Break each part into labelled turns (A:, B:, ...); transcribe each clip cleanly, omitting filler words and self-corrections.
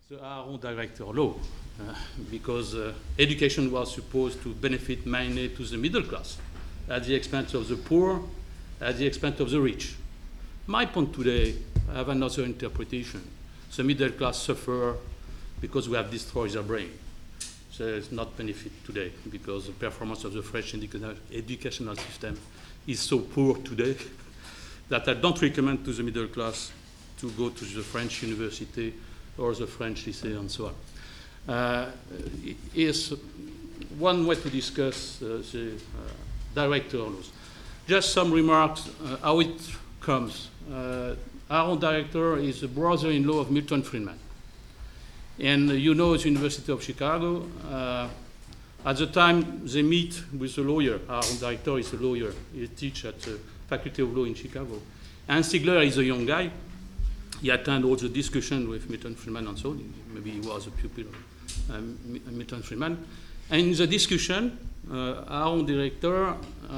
A: the Aron Director law, because education was supposed to benefit mainly to the middle class, at the expense of the poor, at the expense of the rich. My point today, I have another interpretation. The middle class suffer because we have destroyed their brain. There is not benefit today because the performance of the French educational system is so poor today that I don't recommend to the middle class to go to the French university or the French lycée and so on. Is one way to discuss the director laws. Just some remarks how it comes. Aron Director is the brother-in-law of Milton Friedman. And you know the University of Chicago. At the time they meet with a lawyer, Aron Director is a lawyer. He teaches at the Faculty of Law in Chicago. And Stigler is a young guy. He attended all the discussion with Milton Friedman and so on. Maybe he was a pupil of Milton Friedman. And in the discussion, Aron Director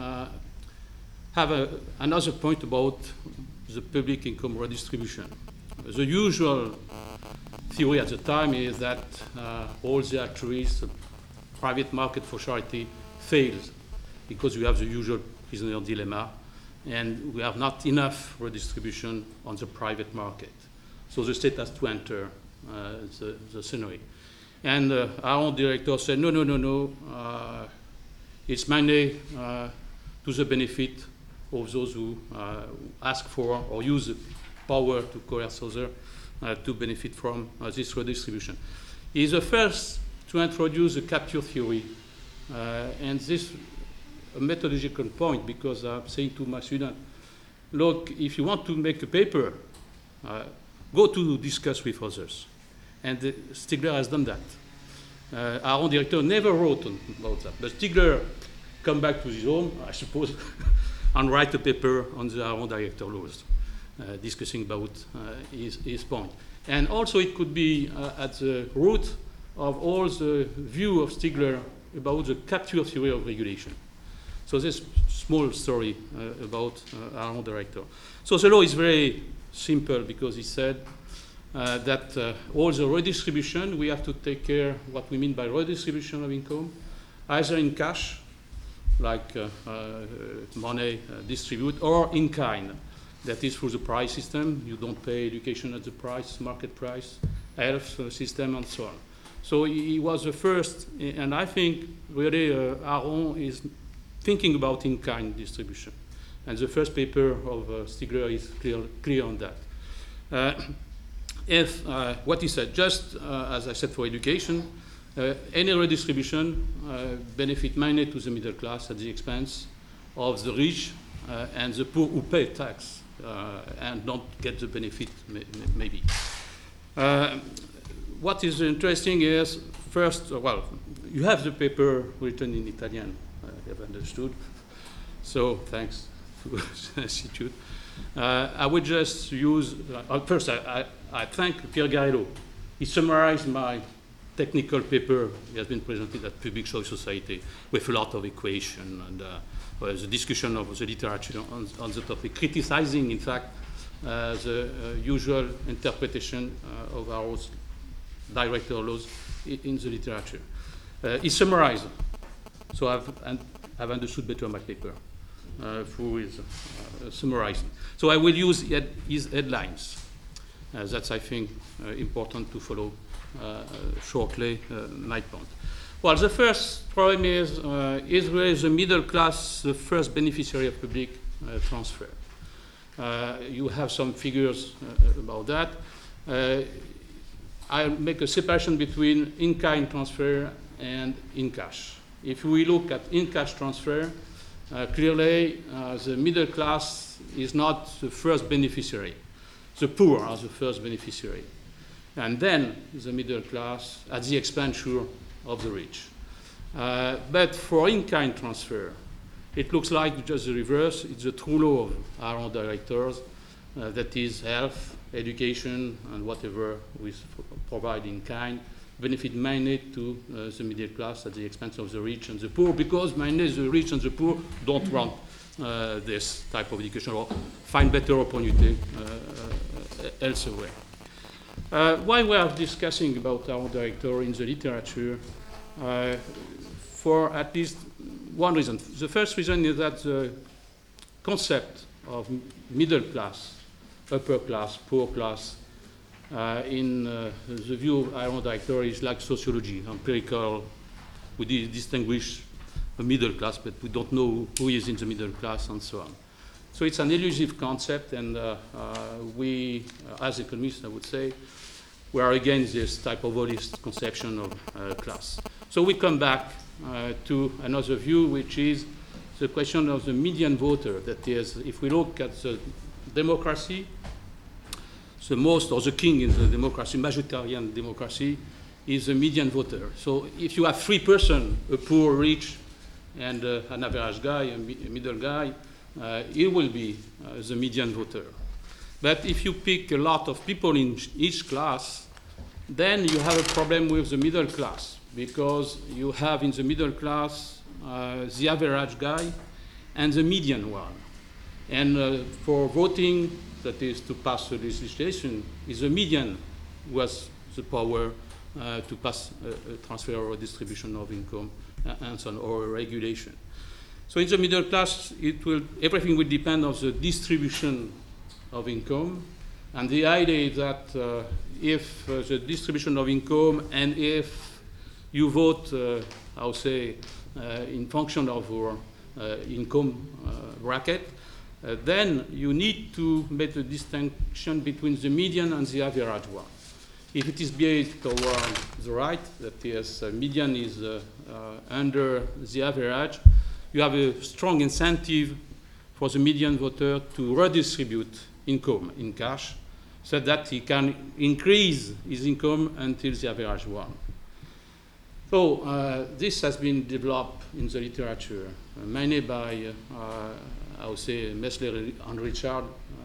A: have another point about the public income redistribution. The usual theory at the time is that all the actuaries, the private market for charity, fails because we have the usual prisoner dilemma and we have not enough redistribution on the private market. So the state has to enter the scenario. And our director said, no, it's mainly to the benefit of those who ask for or use the power to coerce others to benefit from this redistribution. He's the first to introduce the capture theory, and this a methodological point because I'm saying to my student, look, if you want to make a paper, go to discuss with others. And Stigler has done that. Aron Director never wrote about that, but Stigler come back to his home, I suppose, and write a paper on the Aron Director laws, discussing about his point. And also it could be at the root of all the view of Stigler about the capture theory of regulation. So this small story about Aron Director. So the law is very simple because he said that all the redistribution, we have to take care what we mean by redistribution of income, either in cash, like money distribute, or in kind. That is through the price system. You don't pay education at the price, market price, health system, and so on. So he was the first, and I think really Aron is thinking about in-kind distribution. And the first paper of Stigler is clear on that. What he said, just as I said for education, any redistribution benefit mainly to the middle class at the expense of the rich and the poor who pay tax and don't get the benefit, maybe. What is interesting is, first, well, you have the paper written in Italian, I have understood. So thanks to the Institute. I would just use, first I thank Pierre Garello. He summarized my technical paper. He has been presented at Public Choice Society with a lot of equation and the discussion of the literature on the topic, criticizing, in fact, the usual interpretation of our director laws in the literature. He summarized. So I've understood better my paper through his summarizing. So I will use his headlines. That's, I think, important to follow shortly my point. Well, the first problem is really the middle class the first beneficiary of public transfer? You have some figures about that. I'll make a separation between in-kind transfer and in-cash. If we look at in-cash transfer, clearly the middle class is not the first beneficiary. The poor are the first beneficiary. And then the middle class at the expenditure of the rich. But for in-kind transfer, it looks like just the reverse. It's the true law of our directors, that is health, education, and whatever we provide in kind, benefit mainly to the middle class at the expense of the rich and the poor, because mainly the rich and the poor don't want this type of education or find better opportunity elsewhere. Why we are discussing about our directory in the literature? For at least one reason. The first reason is that the concept of middle class, upper class, poor class, in the view of our directory is like sociology, empirical. We distinguish a middle class, but we don't know who is in the middle class and so on. So it's an elusive concept, and we, as economists, I would say, we are against this type of holist conception of class. So we come back to another view, which is the question of the median voter. That is, if we look at the democracy, the most, or the king in the democracy, majoritarian democracy, is the median voter. So if you have three persons, a poor, rich, and an average guy, a middle guy, it will be the median voter. But if you pick a lot of people in each class, then you have a problem with the middle class, because you have in the middle class the average guy and the median one. And for voting, that is to pass the legislation, is the median who has the power to pass a transfer or a distribution of income and so on, or a regulation. So in the middle class, everything will depend on the distribution of income. And the idea is that if the distribution of income, and if you vote, I would say, in function of your income bracket, then you need to make the distinction between the median and the average one. If it is based toward the right, that is, median is under the average, you have a strong incentive for the median voter to redistribute income in cash, so that he can increase his income until the average one. So this has been developed in the literature, mainly by, I would say, Messler and Richard,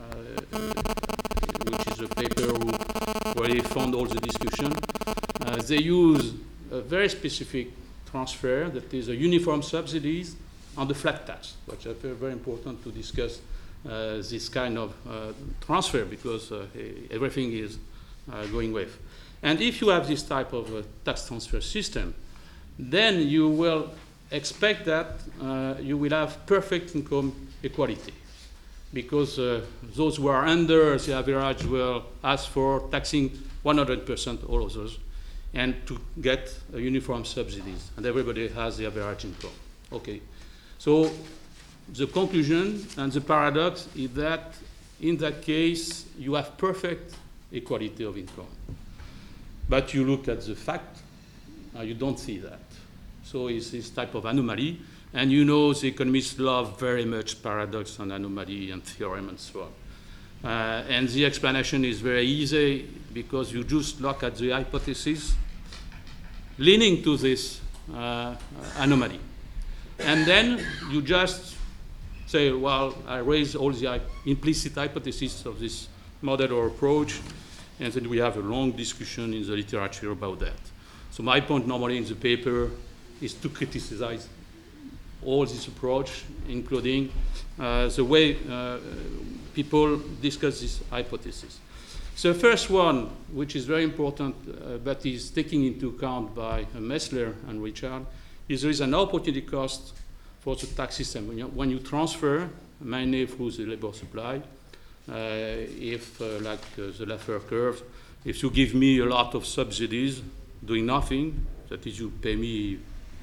A: which is a paper where they found all the discussion. They use a very specific transfer, that is a uniform subsidies and the flat tax, which is very important to discuss this kind of transfer, because everything is going with. And if you have this type of tax transfer system, then you will expect that you will have perfect income equality, because those who are under the average will ask for taxing 100% all others, and to get uniform subsidies, and everybody has the average income. Okay, so the conclusion and the paradox is that in that case you have perfect equality of income, but you look at the fact, you don't see that. So it's this type of anomaly, and you know the economists love very much paradox and anomaly and theorem and so on. And the explanation is very easy, because you just look at the hypothesis leaning to this anomaly. And then you just say, well, I raise all the implicit hypotheses of this model or approach, and then we have a long discussion in the literature about that. So my point normally in the paper is to criticize all this approach, including the way people discuss this hypothesis. So the first one, which is very important, but is taken into account by Messler and Richard, is there is an opportunity cost for the tax system. When you transfer, mainly through the labor supply, if, like the Laffer curve, if you give me a lot of subsidies doing nothing, that is, you pay me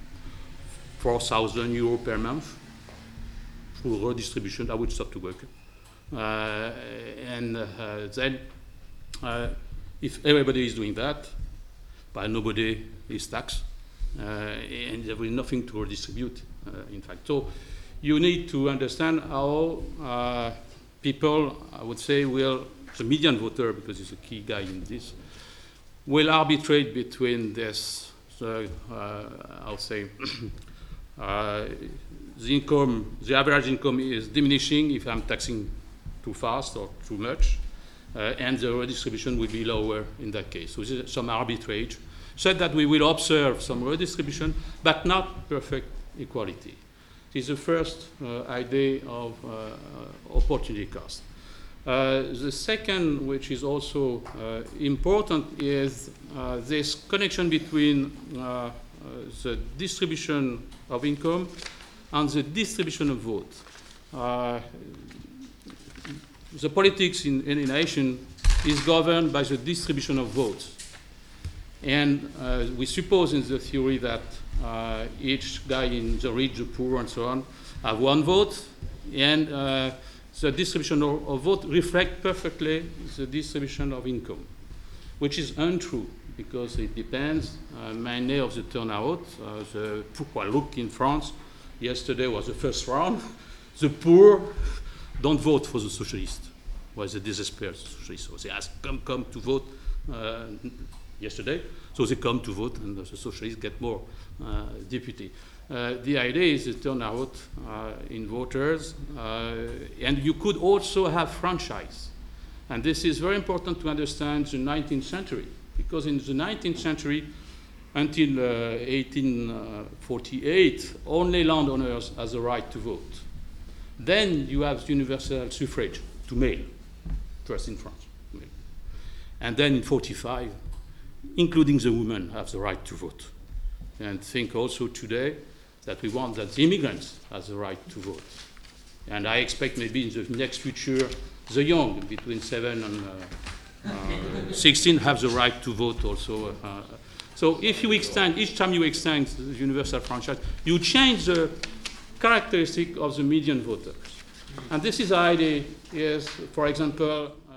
A: 4,000 euros per month through redistribution, I would stop to work. And then, if everybody is doing that, but nobody is taxed, and there will be nothing to redistribute, in fact. So you need to understand how people, I would say, will, the median voter, because he's a key guy in this, will arbitrate between this, I would say, the income, the average income is diminishing if I'm taxing too fast or too much, and the redistribution will be lower in that case. So this is some arbitrage, so that we will observe some redistribution, but not perfect equality. This is the first idea of opportunity cost. The second, which is also important, is this connection between the distribution of income and the distribution of vote. The politics in any nation is governed by the distribution of votes. And we suppose in the theory that each guy in the rich, the poor, and so on, have one vote, and the distribution of vote reflects perfectly the distribution of income, which is untrue because it depends mainly of the turnout. Look in France, yesterday was the first round. The poor don't vote for the socialists. Was the despair socialists. So they ask, come to vote yesterday. So they come to vote, and the socialists get more deputy. The idea is the turnout in voters, and you could also have franchise. And this is very important to understand the 19th century, because in the 19th century, until 1848, only landowners has the right to vote. Then you have universal suffrage to male, first in France. Male. And then in 45, including the women, have the right to vote. And think also today that we want that the immigrants have the right to vote. And I expect maybe in the next future, the young, between 7 and 16, have the right to vote also. So if you extend, each time you extend the universal franchise, you change the characteristic of the median voters. And this is the idea, is, for example,